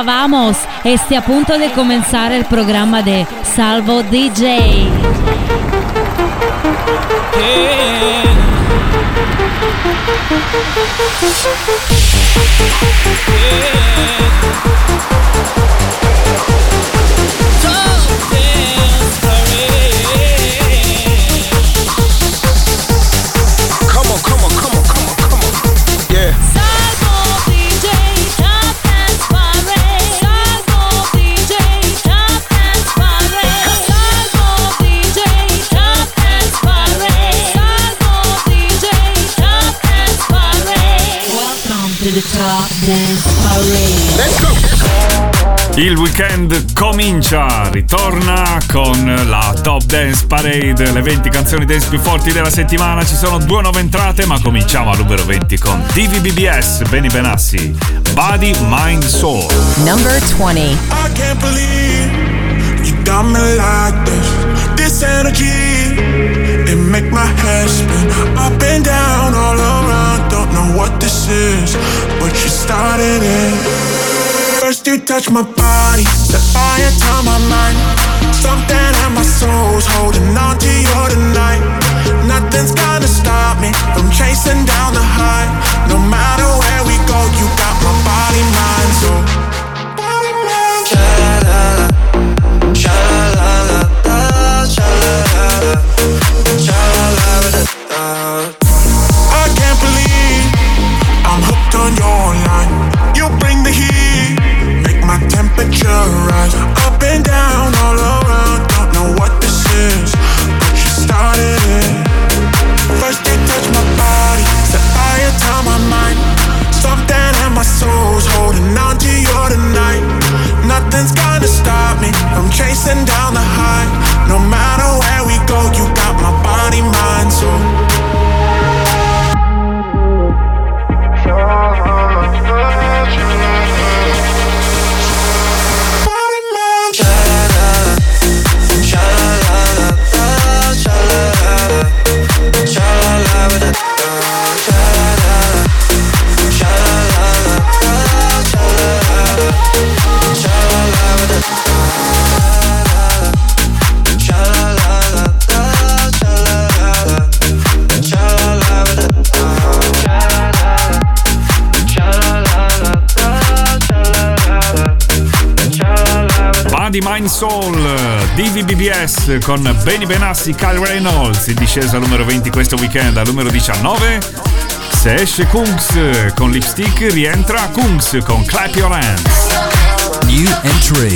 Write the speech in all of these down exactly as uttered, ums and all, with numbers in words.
Hola, vamos. Este a punto de comenzar el programa de Salvo D J. Yeah. Il weekend comincia, ritorna con la Top Dance Parade, le venti canzoni dance più forti della settimana. Ci sono due nuove entrate, ma cominciamo al numero venti con D V B B S, Benny Benassi, Body, Mind, Soul. Number twenty. I can't believe you got me like this. This energy, it make my head spin. Up and down, all around, don't know what this is, but you started it. First you touch my body, the fire to my mind. Something in my soul's holding on to you tonight. Nothing's gonna stop me from chasing down the high. No matter where we go, you got my body, mind, soul. Body, mind, sha-la-la-la, sha-la-la-la, sha-la-la-la, sha-la-la-la. I can't believe I'm hooked on your line. You bring the heat, my temperature rise up and down, all around. Don't know what this is, but you started it. First you touch my body, set fire to my mind. Something in my soul's holding on to you tonight. Nothing's gonna stop me from chasing down the high. No matter where we go, you got my body, mind, soul. Di Mind Soul, D V B B S con Benny Benassi, Kyle Reynolds, in discesa al numero venti questo weekend. Al numero diciannove, se esce Kungs con Lipstick, rientra Kungs con Clap Your Hands. New entry.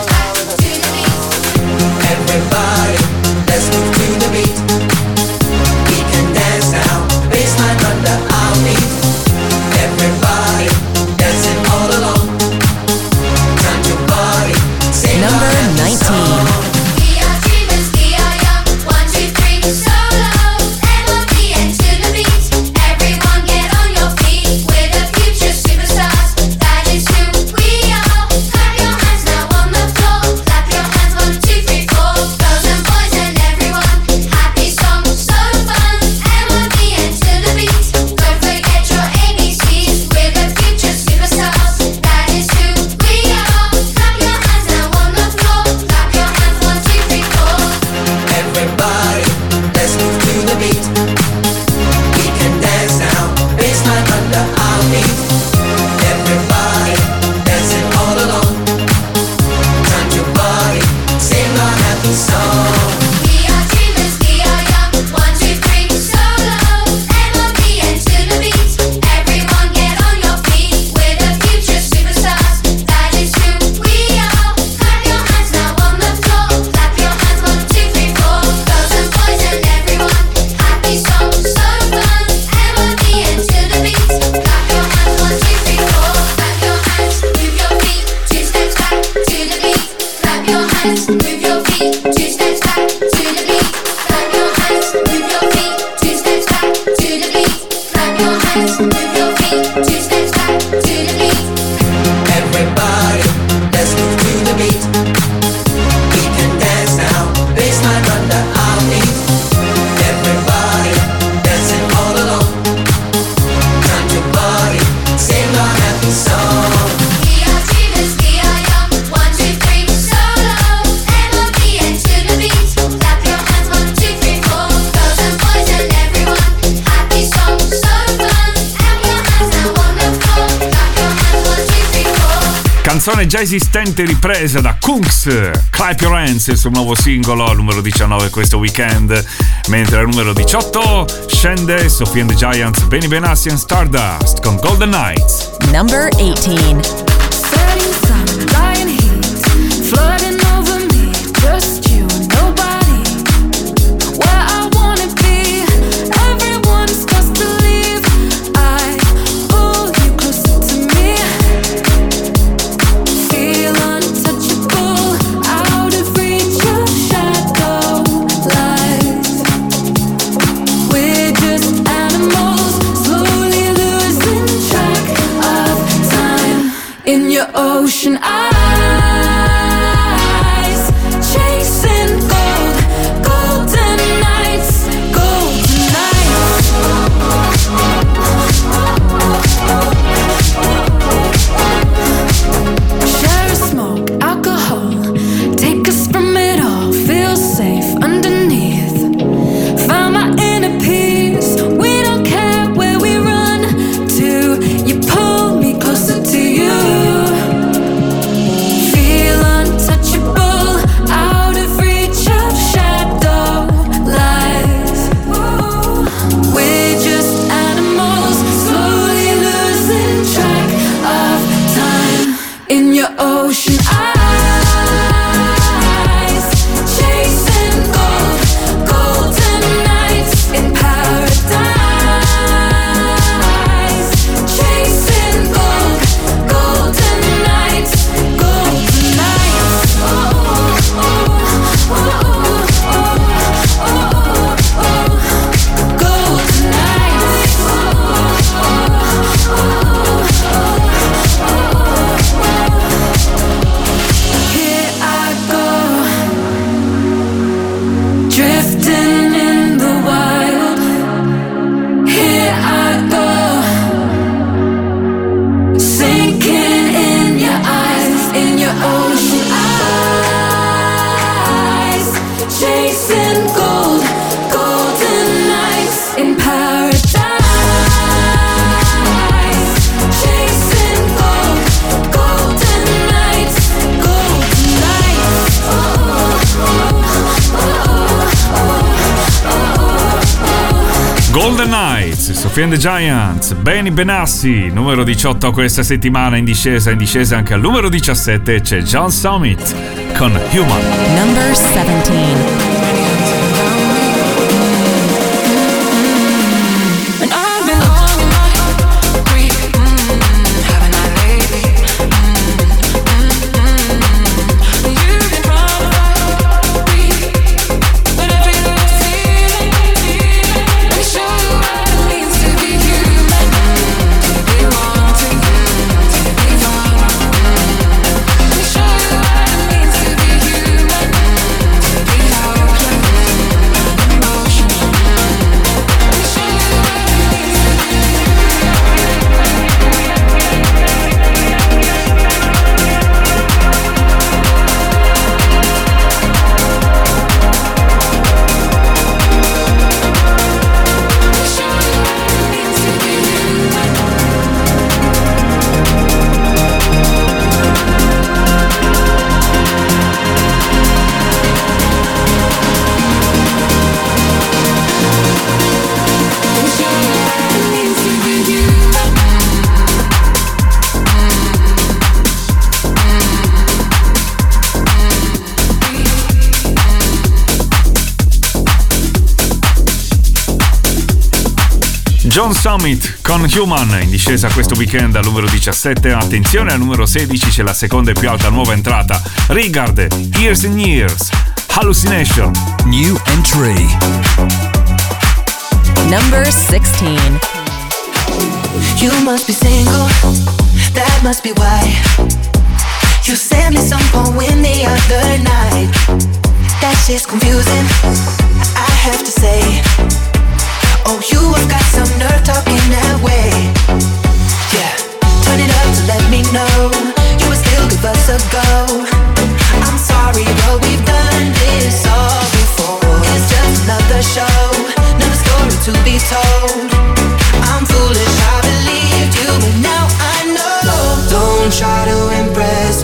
Everybody, let's move to the beat. We can dance now, baseline under our feet. Everybody, dancing all alone. Time to party. Number nineteen. We are dreamers, we are young. One, two, three, solo. M O B and to the beat. Everyone get on your feet. We're the future superstars. That is who we are. Clap your hands now on the floor. Clap your hands, one, two, three, four. Girls and boys and everyone. Happy song, so fun. M O B and to the beat. Don't forget your A B Cs. We're the future superstars. That is who we are. Clap your hands now on the floor. Clap your hands, one, two, three, four. Everybody, let's move to the beat. We can dance now, baseline under our feet. Everybody, dancing all alone. Time to party, sing our happy song. We are dreamers, we are young. One, two, three, solo. M O B and to the beat. Everyone get on your feet. We're the future superstars. That is who we are. Clap your hands now on the floor. Clap your hands, one, two, three, four. Girls and boys and everyone. Happy song, so fun. M O B and to the beat. Clap your hands, one, two, three, four. Clap your hands, move your feet. Two steps back to the beat. Clap your hands, move your feet. Two steps back to the beat. Clap your hands, move your feet. Two steps back to the beat. Clap your hands, move your feet. Two steps back to the beat. Everybody, let's move to the beat. We can dance now, baseline under our feet. Everybody, dancing all alone. Time to party, sing our happy song. We are dreamers, we Canzone già esistente ripresa da Kungs, Clap Your Hands, il suo nuovo singolo, al numero diciannove questo weekend. Mentre al numero diciotto scende Sophie and the Giants, Benny Benassi and Stardust con Golden Nights. Number eighteen. Setting sun, dying heat, flooding over me, just you and nobody. Where I wanna be, everyone starts to leave. I pull you closer to me, feel untouchable, out of reach of shadow light. We're just animals, slowly losing track of time in your ocean eyes, chasing gold, golden nights, golden nights. Share a smoke, alcohol, take us from it all, feel safe underneath. Found my inner peace, we don't care where we run to, you pull me closer to you. Feel untouchable, out of reach of shadow lights. We're just animals, slowly losing track of time in your ocean eyes, chasing gold, golden nights in paradise, chasing gold, golden nights, golden nights. Oh, oh, oh, oh, oh, oh, oh, golden nights. Here I go, drifting in the wild. Here I go, sinking in your eyes, in your ocean eyes, chasing gold, golden nights in paradise, chasing gold, golden nights, golden nights. Oh, oh, Golden Nights, Sophie and the Giants, Benny Benassi, numero diciotto questa settimana in discesa, in discesa anche al numero diciassette c'è John Summit con Human. Number seventeen. and I've been long in my grief, mm, haven't I lately? Mm, mm, mm. You've been trying to fight me, but every little feeling, let me show you what it means to be human, to be wanting, to be fun. Let me show you what it means to be human, to be helpless, emotional. Let me show you what it means to be John Summit con Human in discesa questo weekend al numero diciassette. Attenzione, al numero sedici c'è la seconda e più alta nuova entrata, Rigard, Years and Years, Hallucination. New entry. Number sixteen. You must be single, that must be why you sent me some poem the other night. That shit's confusing, I have to say. Oh, you have got some nerve talking that way. Yeah, turn it up to let me know you would still give us a go. I'm sorry, but we've done this all before. It's just another show, another story to be told. I'm foolish, I believed you, but now I know. Don't try to impress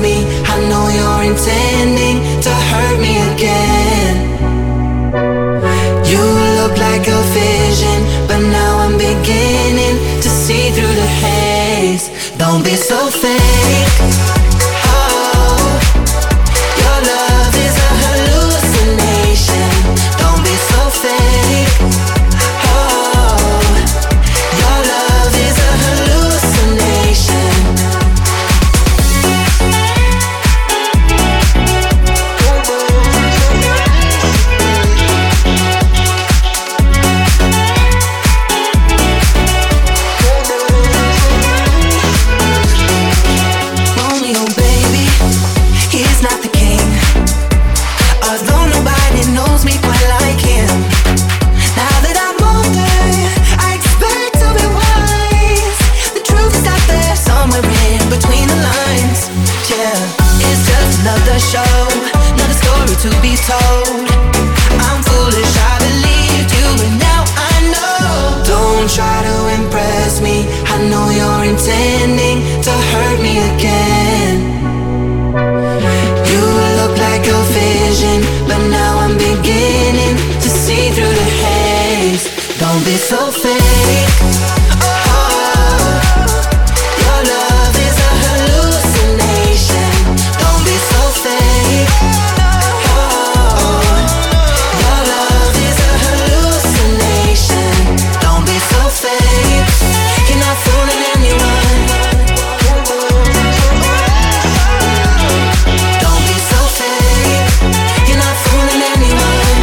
intending to hurt me again. You look like a vision, but now I'm beginning to see through the haze. Don't be so fake. Oh, your love is a hallucination. Don't be so fake. Oh, your love is a hallucination. Romeo, baby, he's not the king. Although nobody knows me quite like him. Now that I'm older, I expect to be wise. The truth is out there somewhere in between the lines. Yeah, it's just another show, another story to be told. I'm foolish, I believed you, and now I know. Don't try to impress me, I know you're intending to hurt me again. You look like a vision, but now I'm beginning to see through the haze. Don't be so fake. Oh, your love is a hallucination. Don't be so fake. Oh, your love is a hallucination. Don't be so fake. You're not fooling anyone. Don't be so fake. You're not fooling anyone.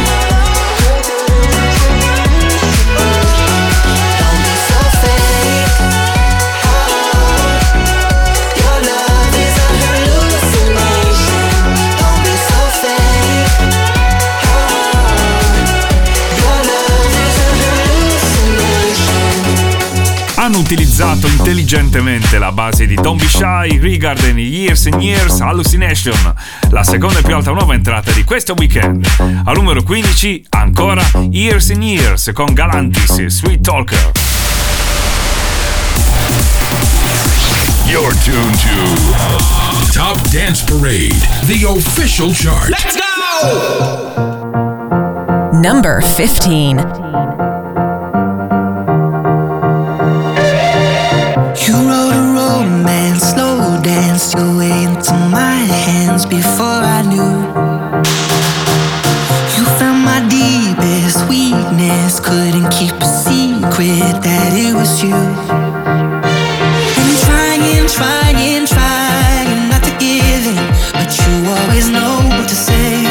Don't be so fake. Oh, your love is a hallucination. Don't be so fake. Oh, your love is a hallucination. Hanno utilizzato intelligentemente la base di Don't Be Shy, Regard and Years and Years, Hallucination, la seconda e più alta nuova entrata di questo weekend. Al numero quindici ancora Years and Years con Galantis e Sweet Talker. You're tuned to Top Dance Parade, the official chart. Let's go! Number fifteen. You wrote a romance, slow danced your way into my hands before I knew. You found my deepest weakness, couldn't keep a secret that it was you. And trying, trying, trying not to give in, but you always know what to say.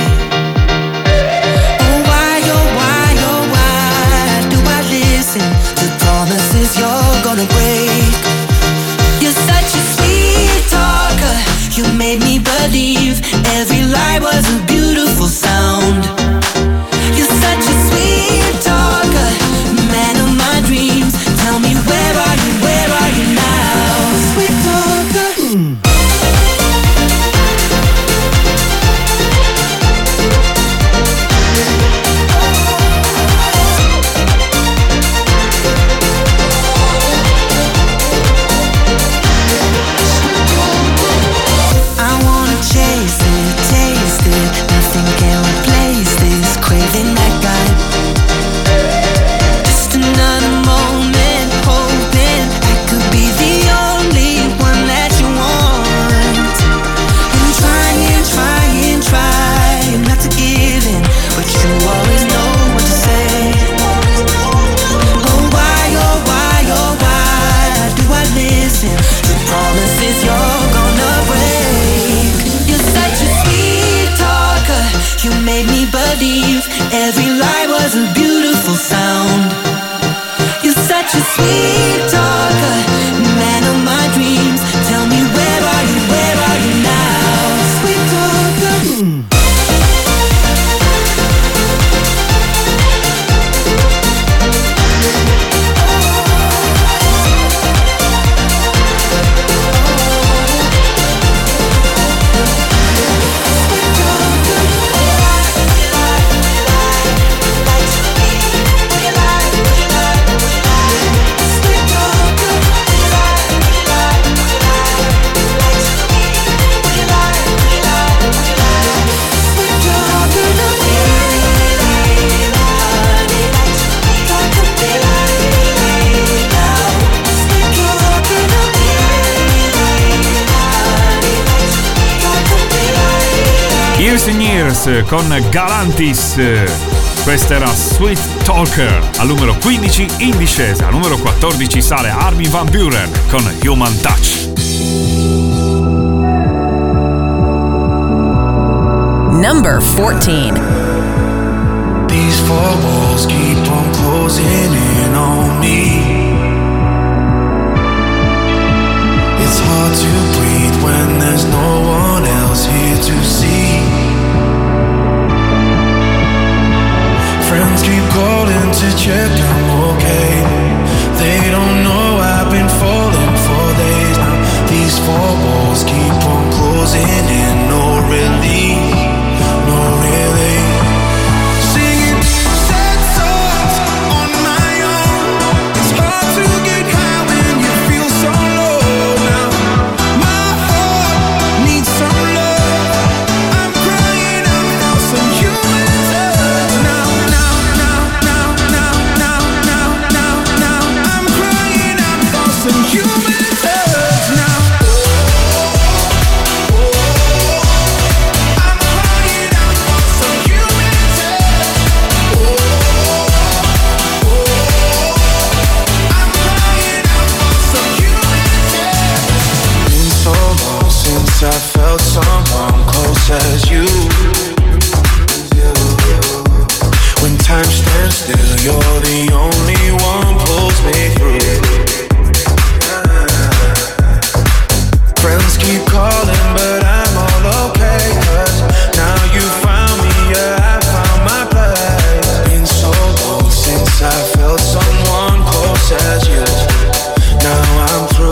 Oh why, oh why, oh why do I listen to promises you're gonna break? You're such a sweet talker, you made me believe every lie was a beautiful sound. You're such a sweet talker, man of my dreams, tell me where are you Years and Years con Galantis. Questa era Sweet Talker. Al numero quindici in discesa. Al numero quattordici sale Armin van Buuren con Human Touch. Number fourteen. These four walls keep on closing in on me. It's hard to breathe when there's no one else here to see. Friends keep calling to check I'm okay. They don't know I've been falling for days now. These four walls keep on closing in, no relief, no relief. Singing sad songs on my own. It's hard to get high when you feel so low now. My heart needs some love. I'm crying out for some human touch now, now, now, now, now, now, now, now, now. I'm crying out for some human touch now. I felt someone close as you. When time stands still, you're the only one pulls me through. Friends keep calling, but I'm all okay. Cause now you found me, yeah, I found my place. Been so long since I felt someone close as you. Now I'm through.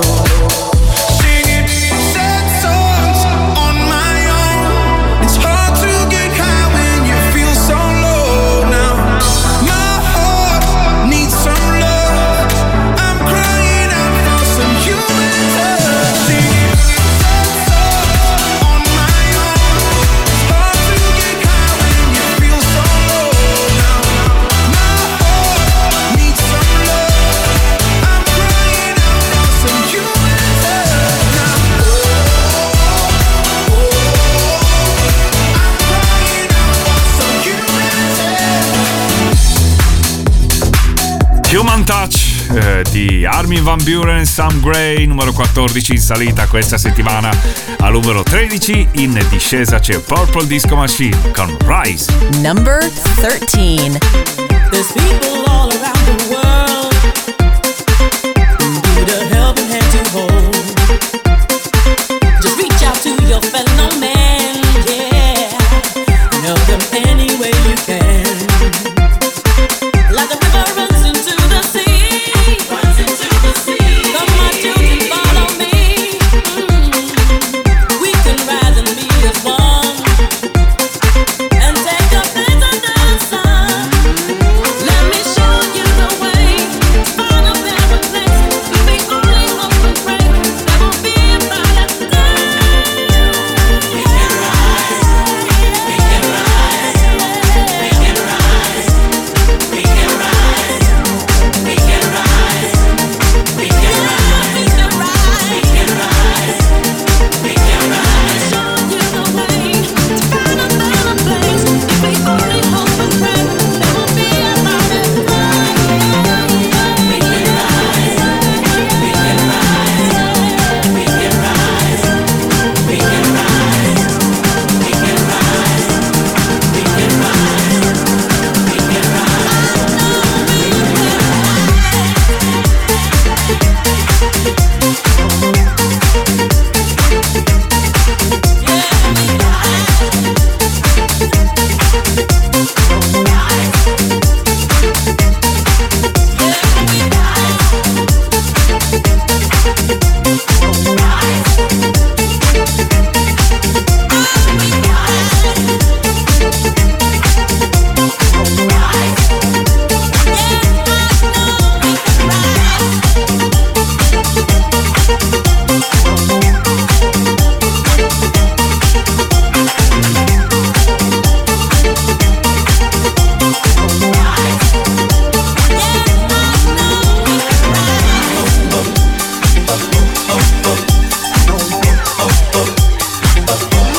Human Touch eh, di Armin van Buuren e Sam Gray, numero quattordici in salita questa settimana. Al numero tredici in discesa c'è Purple Disco Machine con Rise. Number thirteen. There's people all around the world who need a helping hand to hold. Just reach out to your fellow man, yeah, and help them any way you can. Like the river runs into the sea, runs into the sea. Come my children, follow me. Mm. We can rise and be as one, and take a place under the sun. Let me show you the way.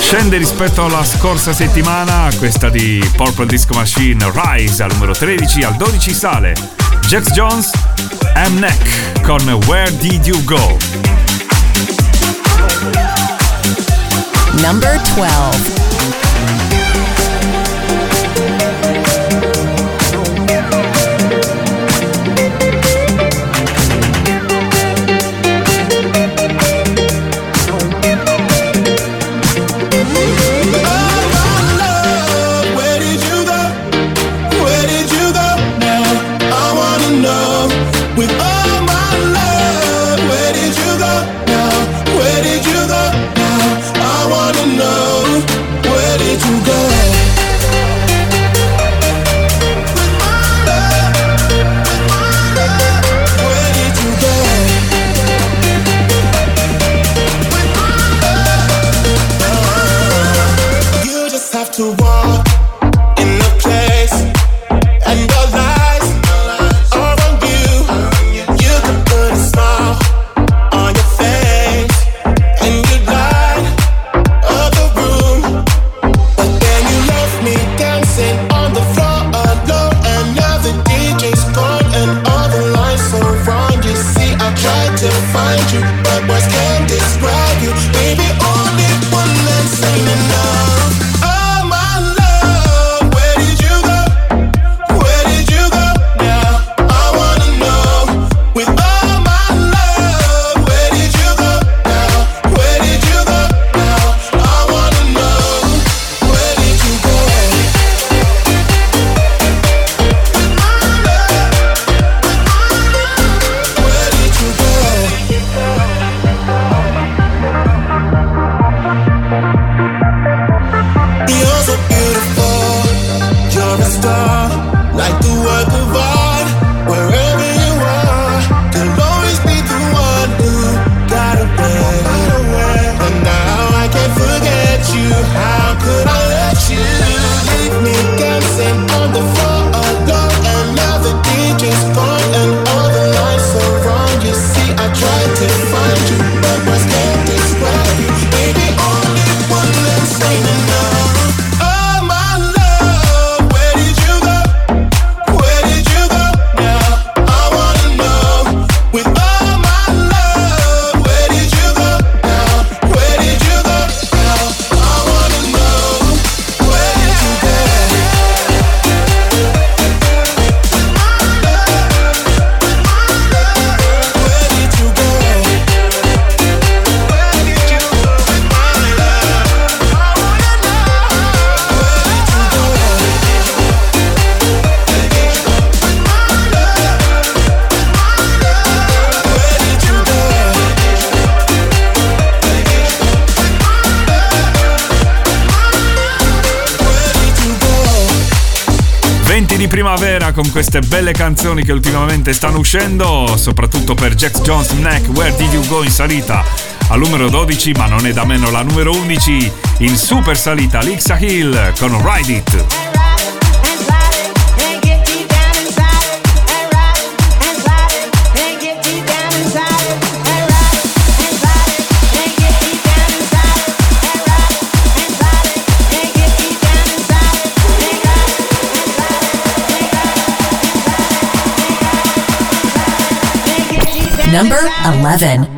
Scende rispetto alla scorsa settimana, questa di Purple Disco Machine, Rise al numero tredici, al dodici sale Jax Jones, M-Neck con Where Did You Go? Number twelve. To walk in the place, and your lies are on you. You can put a smile on your face, and you light up the room. But then you left me dancing on the floor alone, and now the D J's gone, and all the lights are wrong. You see, I tried to find you, but words can't describe you. Baby, only one that's ain't enough. Di primavera con queste belle canzoni che ultimamente stanno uscendo, soprattutto per Jax Jones, Neck, Where Did You Go in salita al numero dodici, ma non è da meno la numero undici in super salita, Lixa Hill con Ride It. Number eleven.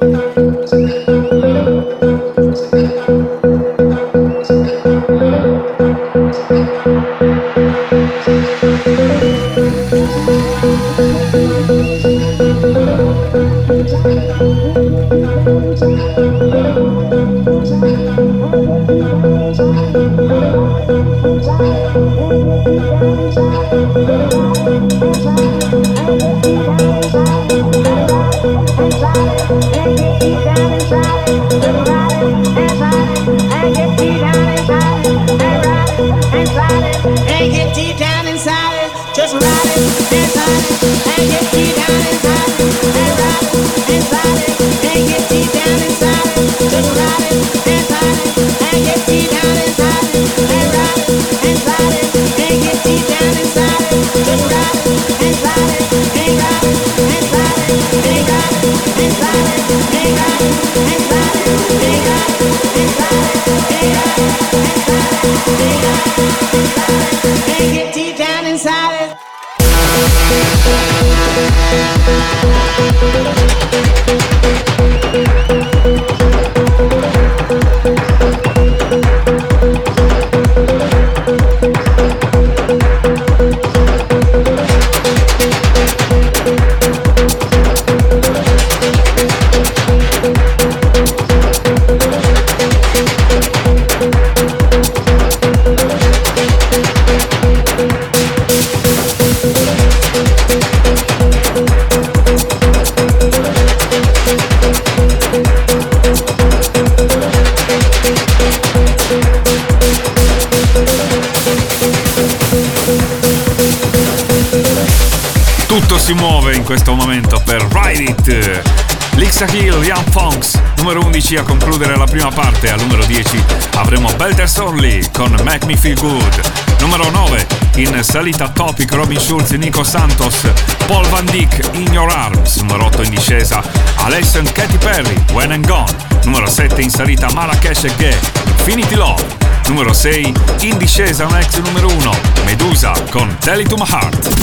Thank you. Si muove in questo momento per Ride It. Lixa Hill, Young Funks, numero undici a concludere la prima parte. Al numero dieci avremo Belter Sorley con Make Me Feel Good. Numero nove in salita Topic, Robin Schulz, Nico Santos, Paul Van Dyk, In Your Arms. Numero otto in discesa Alessia e Katy Perry, When and Gone. Numero sette in salita Marrakesh e Gay, Infinity Love. Numero sei in discesa un ex numero uno, Medusa con Tell It To My Heart.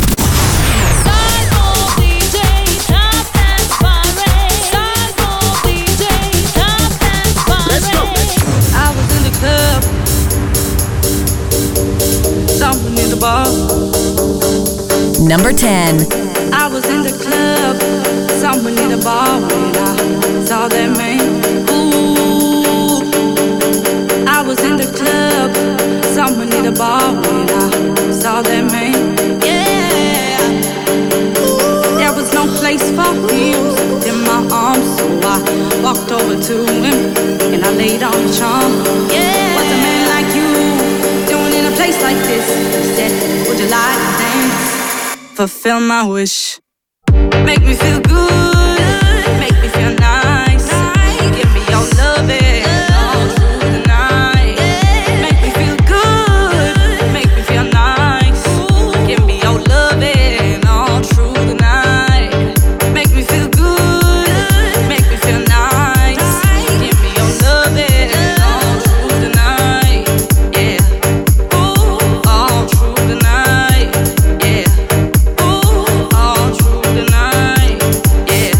Something in the bar. Number ten. I was in the club, someone in the bar when I saw that man. Ooh, I was in the club, someone in the bar when I saw that man. Yeah, there was no place for heels in my arms, so I walked over to him and I laid on the charm. Yeah, what's a man like you doing in a place like this? He said, would you like to dance? Fulfill my wish. Make me feel good, make me feel nice. Give me your loving all through the night. Make me feel good, make me feel nice. Give me your loving all through the night. Make me feel good, make me feel nice. Give me your loving all through the night. Yeah, ooh, all through the night. Yeah, ooh, all through the night. Yeah.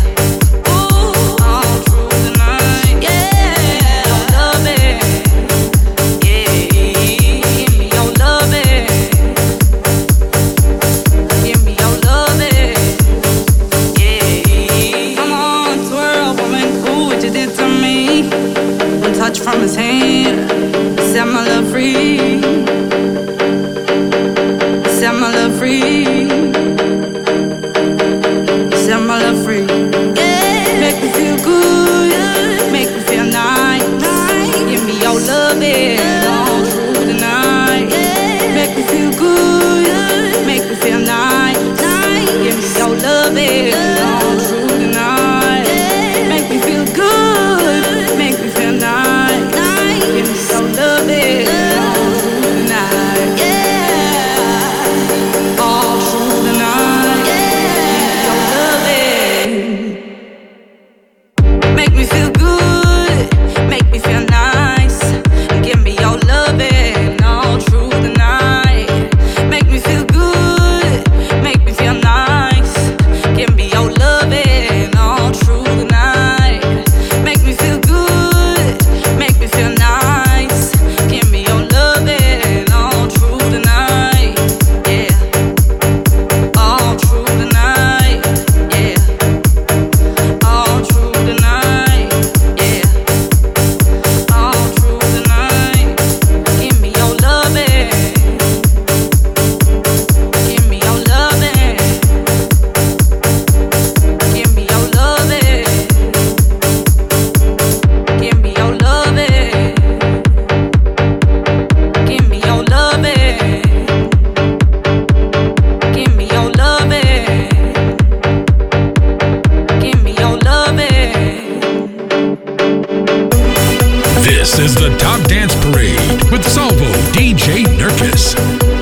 Salvo D J Nurkis.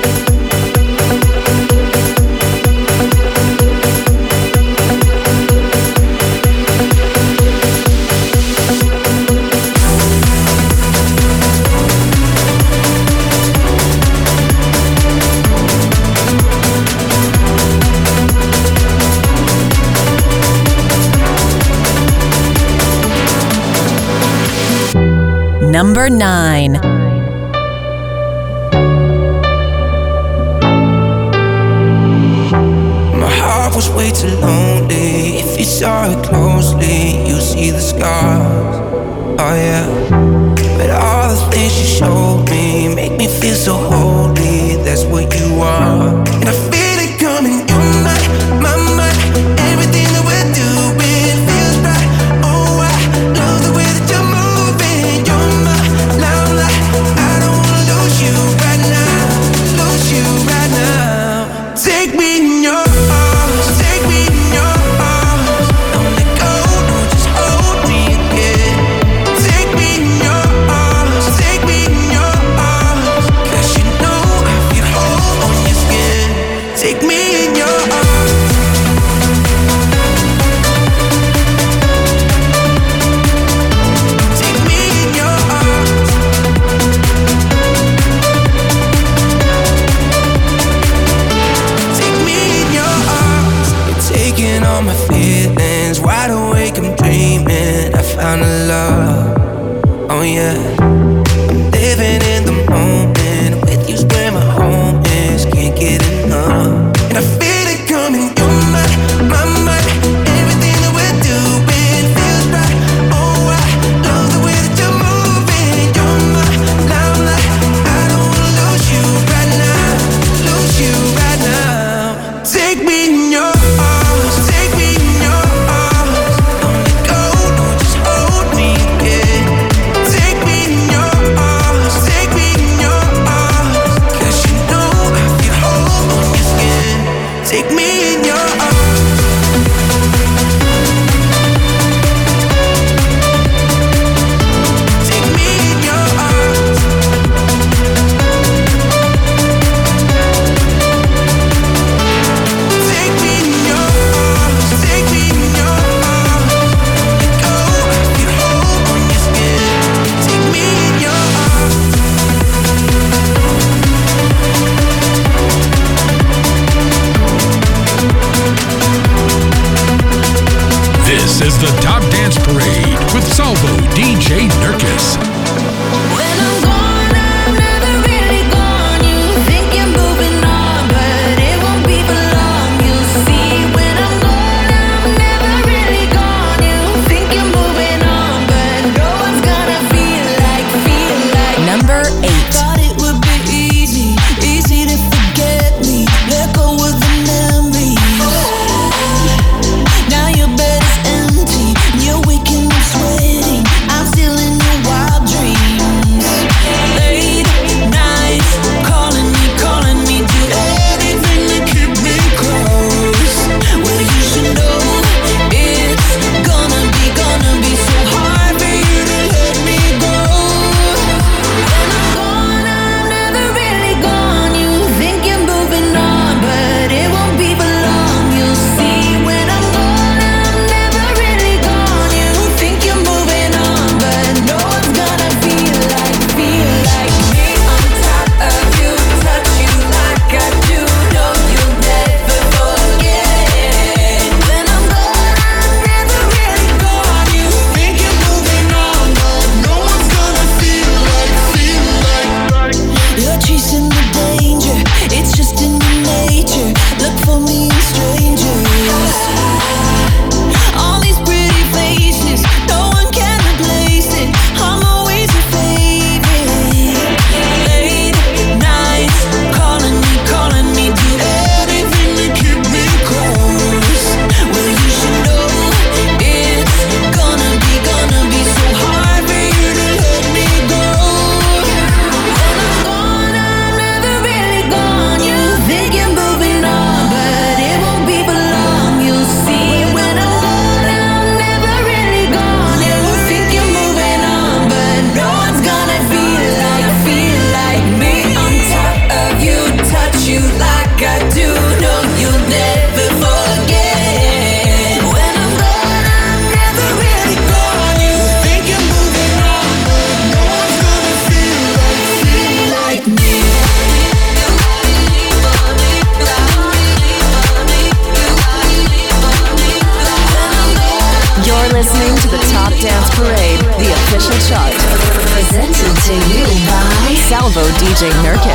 Number nine. My heart was way too lonely. If you saw it closely, you see the scars. Oh yeah. But all the things you showed me make me feel so holy. That's what you are. And I feel it coming. You're my, my, my. Everything that we're doing feels right. Oh, I love the way that you're moving. You're my limelight. I don't wanna lose you right now. Lose you right now. Take me in your arms. Take me in your arms. Don't let go. No, just hold me again. Take me in your arms. Take me in your arms. 'Cause you know I feel whole on your skin.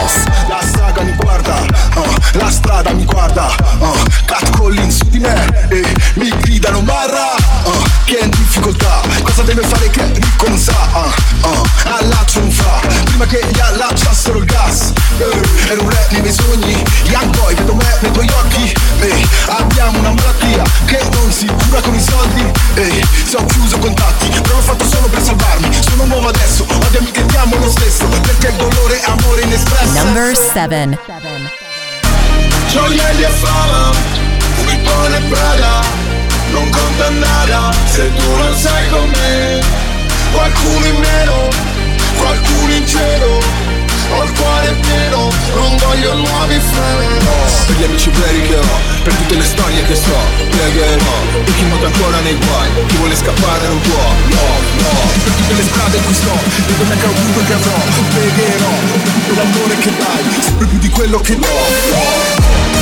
Dance. La saga mi guarda, uh, la strada mi guarda, uh, Cat Collins su di me e mi gridano marra, uh, che è in difficoltà, cosa deve fare che ricco non sa, uh, uh, allaccio non fa, prima che gli allacciassero il gas, uh, ero un re nei miei sogni, young boy, vedo me nei tuoi occhi, uh, abbiamo una malattia che non si cura con i soldi, uh, se ho chiuso contatti, però l'ho fatto solo per salvarmi, sono nuovo adesso, odiami che diamo lo stesso, perché il dolore è amore inespresso. Number seven. Gioielli e fama, Vuitton e Prada, non conta nada se tu non sei con me. Qualcuno in meno, qualcuno in cielo, ho il cuore pieno, non voglio nuovi freni. No, per gli amici veri che ho, per tutte le storie che so, pregherò, per chi nuota ancora nei guai, chi vuole scappare non può, no, no, per tutte le strade in cui sto, le donne che ho avuto e che avrò, pregherò, per tutto l'amore che dai, sempre più di quello che do, no.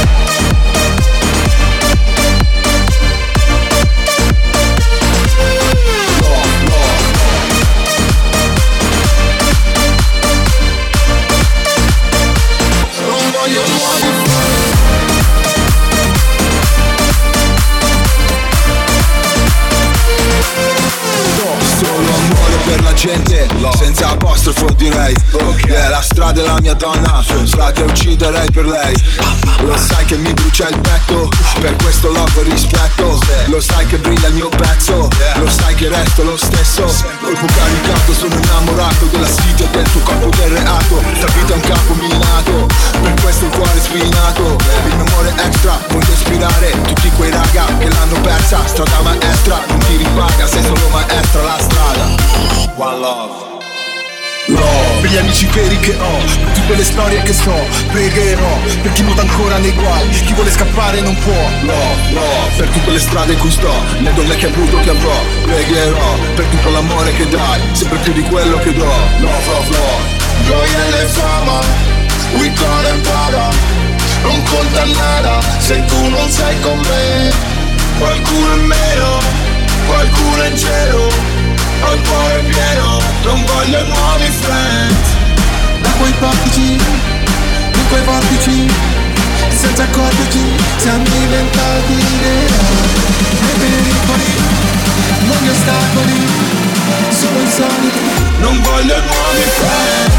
Per la gente, senza apostrofo direi, yeah, la strada è la mia donna, frate ucciderei per lei. Lo sai che mi brucia il petto, per questo love e rispetto. Lo sai che brilla il mio pezzo, lo sai che resto lo stesso. Corpo caricato, sono innamorato della sfida e del tuo corpo del reato. Sta vita è un campo minato, per questo il cuore spinato. Il mio amore extra, voglio ispirare tutti quei raga che l'hanno persa. Strada maestra, non ti ripaga, sei solo maestra la strada. One love. Love, per gli amici veri che ho, per tutte le storie che so, pregherò, per chi nuota ancora nei guai, chi vuole scappare non può. Love, love, per tutte le strade in cui sto, le donne che ho avuto che avrò, pregherò, per tutto l'amore che dai, sempre più di quello che do. Love, love, love. Gioielli e fama, Vuitton e Prada, non conta nada se tu non sei con me. Qualcuno in meno, qualcuno in cielo, ho il cuore pieno, non voglio nuovi friends. Da quei portici, in quei vortici, e senza accorgerci siamo diventati eroi. I pericoli, non gli ostacoli, sono insoliti, non voglio nuovi friends.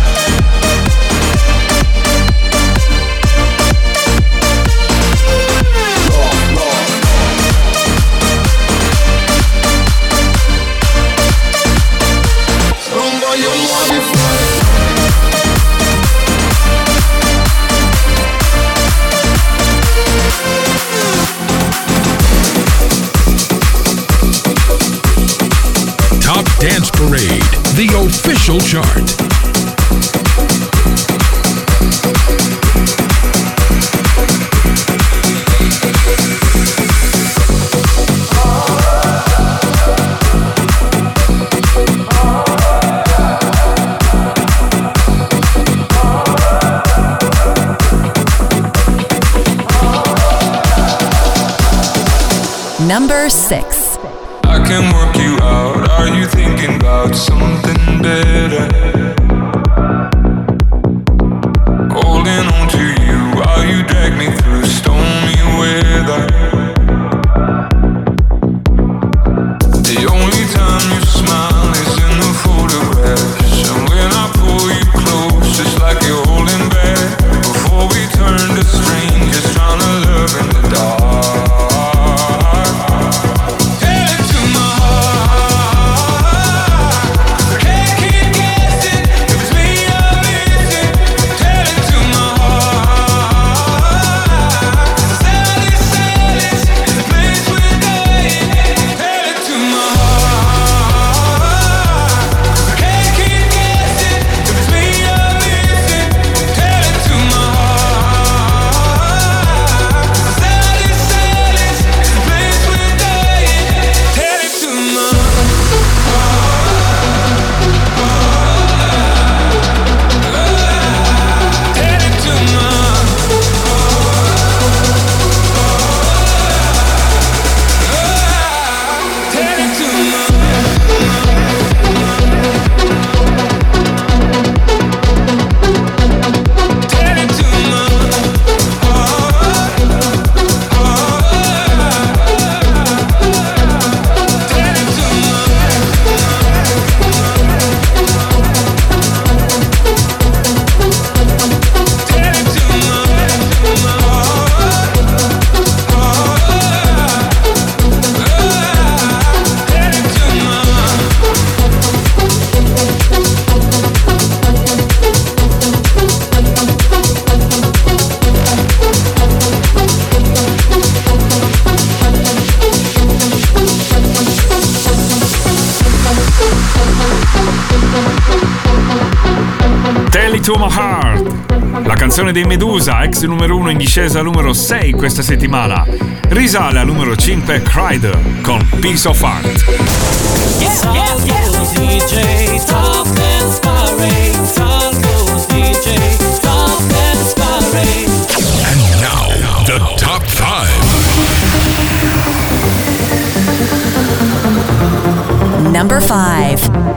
Top Dance Parade, the official chart. Number six. I can work you out. Are you thinking about something better? Holding on to you while you drag me through stormy weather. The only time you smile is in the photographs, and when I pull you close, it's like you're holding back. Before we turn to strangers, trying to love in the dark. Headed to my heart, can't keep getting to My Heart. La canzone dei Medusa, ex numero uno in discesa al numero sei questa settimana. Risale al numero cinque Kryder con Piece of Heart. Yeah, yeah, yeah. D J, Top Dance Parade. Salvo's D J, Top Dance Parade. And now, the top five. Number five.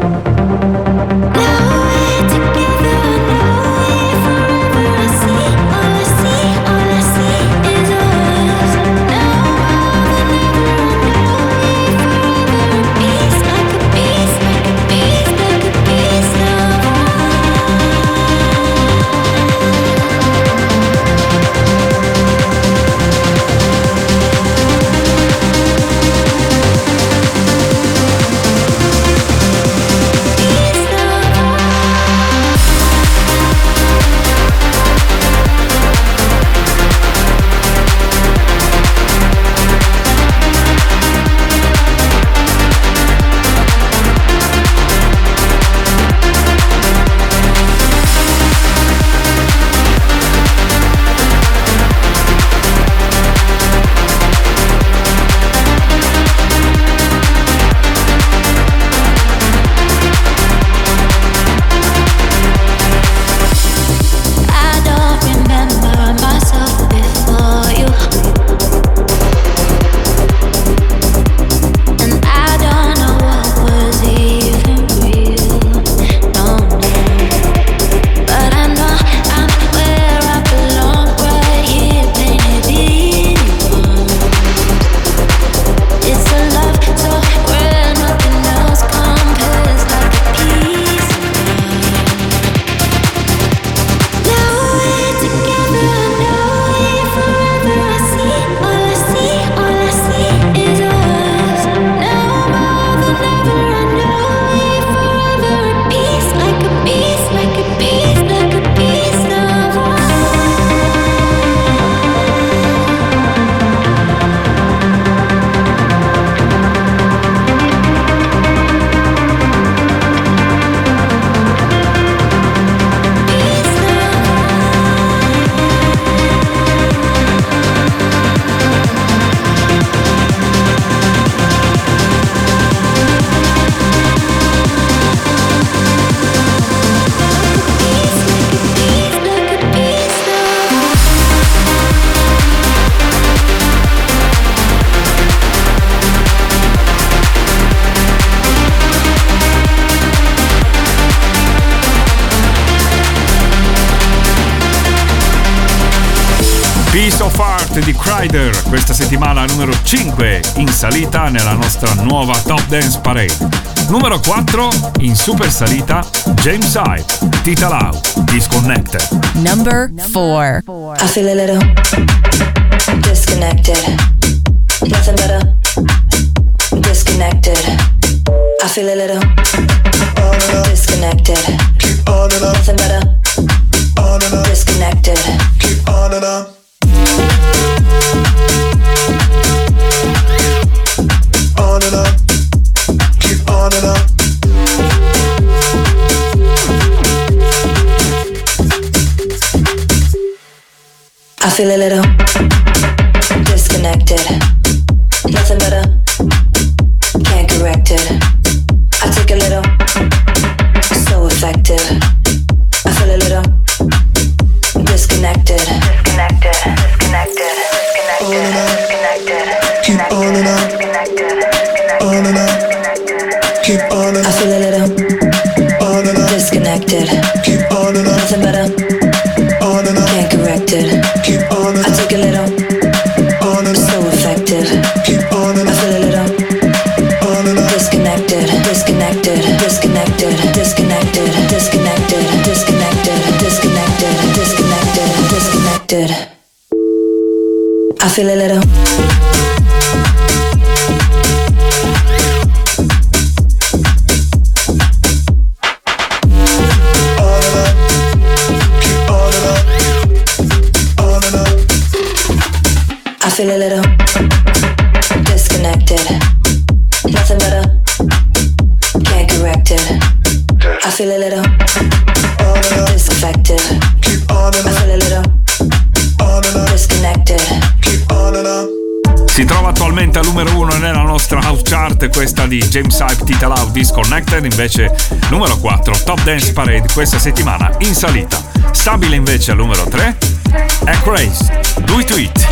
Piece of Heart di Kryder, questa settimana numero cinque in salita nella nostra nuova Top Dance Parade. Numero quattro in super salita James Hype, Tita Lau, Disconnected. Number four. I feel a little disconnected. Nothing better. Disconnected. I feel a little disconnected. Nothing better. Disconnected. Keep on and on. On and on. Keep on and on. I feel a little disconnected. Nothing better. Can't correct it. I take a little. So effective. I feel a little disconnected. Disconnected. Disconnected. Disconnected. Disconnected. Keep on and on. On and on. Keep on and on. I feel a little on and on. Disconnected. Keep on and on. Nothing better. On and on. Can't correct it. Keep on and on. I take a little. On and on. So effective. Keep on and I on. feel a little On and on. disconnected. Disconnected. Disconnected. Disconnected. Disconnected. Disconnected. Disconnected. Disconnected. Disconnected. I feel a little. I feel a little disconnected. Nothing better. Can't correct it. I feel a little disaffected. I feel a little disconnected. Si trova attualmente al numero uno nella nostra house chart, questa di James Hype, Tita Love, Disconnected. Invece numero quattro, Top Dance Parade, questa settimana in salita. Stabile invece al numero tre, Acraze, Do It To It.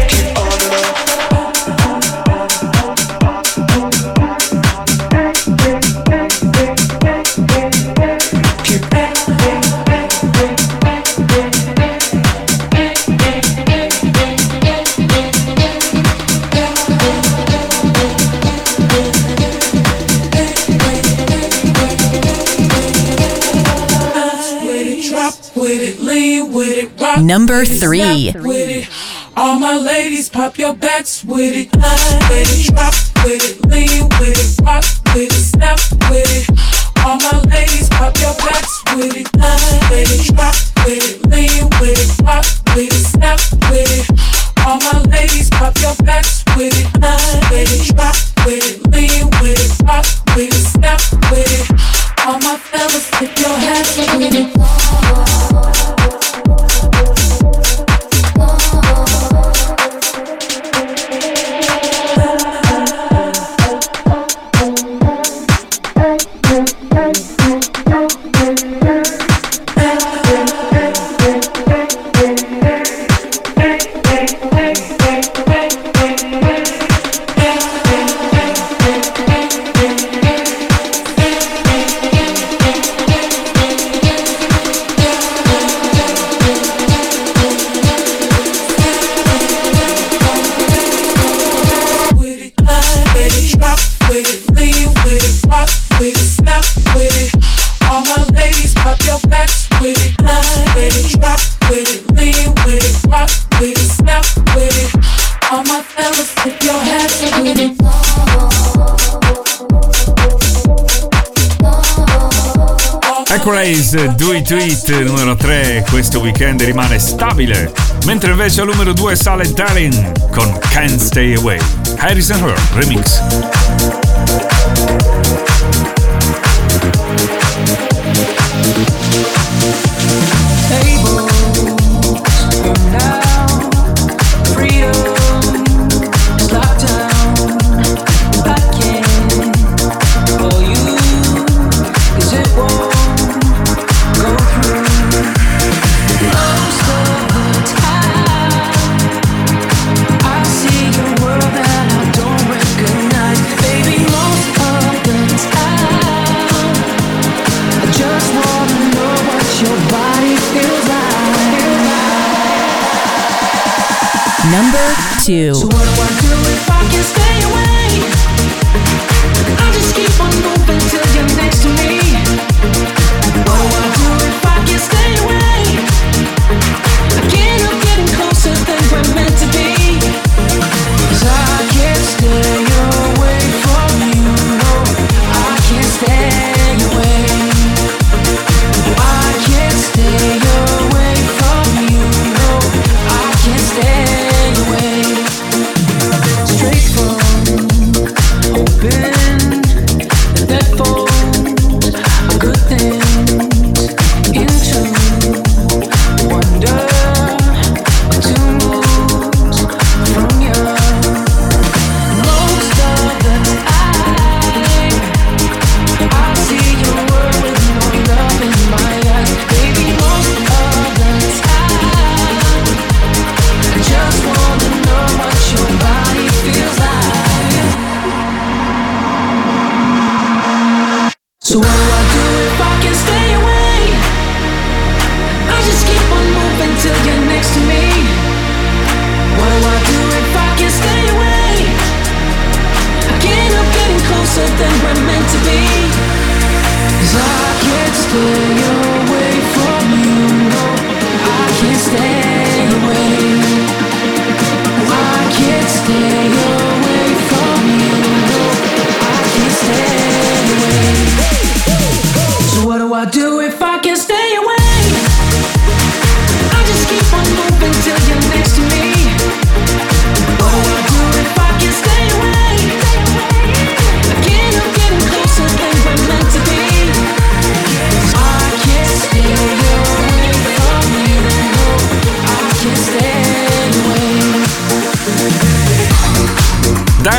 Number three. With it. All my ladies, pop your backs with it. With it, drop with it, lean with it, rock with it, snap with it. All my ladies, pop your backs with it. With it, drop with it, lean with it, rock with it, snap with it. All my ladies, pop your backs with it. With it, drop with it, lean with it, rock with it, snap with it. All my fellas, tip your hats with it. Acraze, Do It To It, numero tre, questo weekend rimane stabile, mentre invece al numero due sale Darin con Can't Stay Away, Harrison Her Remix. Number two. So what do I do if I can stay away? I just keep on moving till you're next to me. What do I do if I can stay away? I can't help getting closer than we're meant to be. 'Cause I can't stay away from you. No, I can't stay away. I can't stay away from you. No, I can't stay. Straight from open that folds a good things into wonder to move from you. Most of the time I see your world with no love in my eyes. Baby, most of the time I just wanna know what your body feels like. So what do I do if I can stay away? I just keep on moving till you're next to me. What do I do if I can stay away? I can't help getting closer than we're meant to be. 'Cause I can't stay away from you. No, I can't stay away. I can't stay away from you. No, I can't stay away.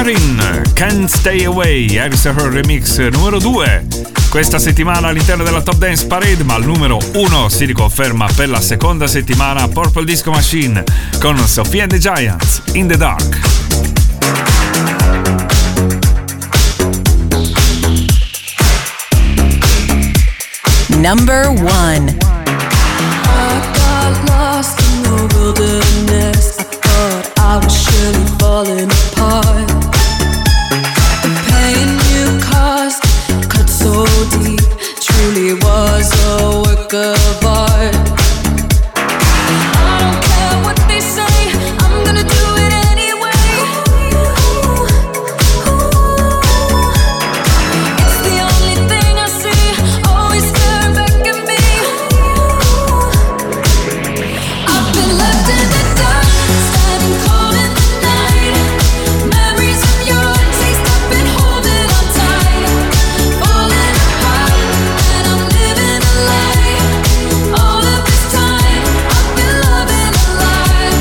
Darin, Can't Stay Away, Harris and Her Remix numero due. Questa settimana all'interno della Top Dance Parade, ma al numero uno si riconferma per la seconda settimana Purple Disco Machine con Sophie and the Giants, In the Dark. Number one. I got lost in the wilderness. I thought I was surely falling apart. The pain you caused cut so deep, truly was a work of art. I don't care what they say, I'm gonna do it anyway. It's the only thing I see, always staring back at me. I've been left in the dark, standing cold in the night. Memories of your taste, I've been holding on tight. Falling apart, and I'm living a lie. All of this time, I've been loving a lie.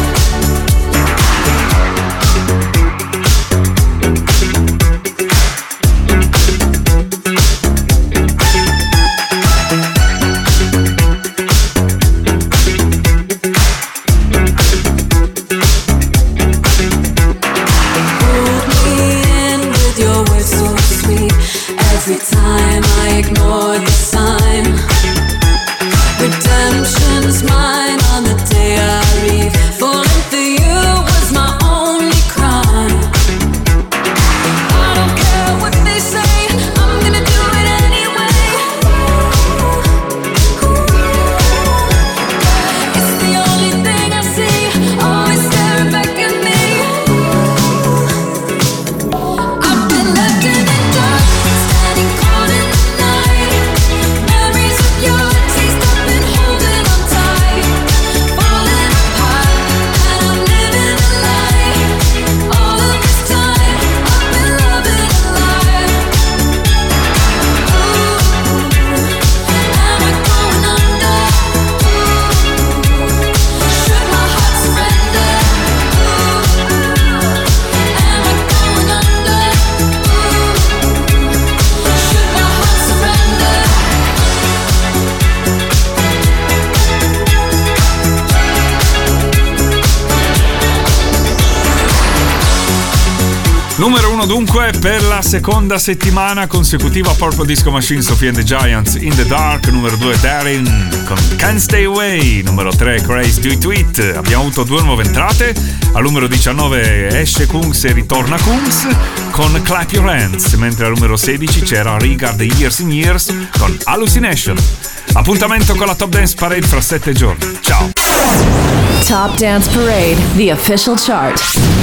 Hold me in with your words so sweet. Every time I ignore the sign, redemption's mine on the day I leave. Falling for you was my only crime. I don't care what they say, I'm gonna do it anyway. It's the only thing I see, always staring back at me. I've been left in the dark, standing cold in the night. Memories of your taste, I've been holding on tight. Falling apart, and I'm living a lie. All of this time, I've been loving a lie. Am I going under? Should my heart surrender? Am I going under? Should my heart surrender? Numero uno dunque per la seconda settimana consecutiva Purple Disco Machine, Sophie and the Giants, In the Dark. Numero due Darin con Can't Stay Away. Numero tre Crazy Do It To It. Abbiamo avuto due nuove entrate. Al numero diciannove esce Kungs e ritorna Kungs con Clap Your Hands, mentre al numero sedici c'era Rigard e Years in Years con Hallucination. Appuntamento con la Top Dance Parade fra sette giorni. Ciao! Top Dance Parade, the official chart.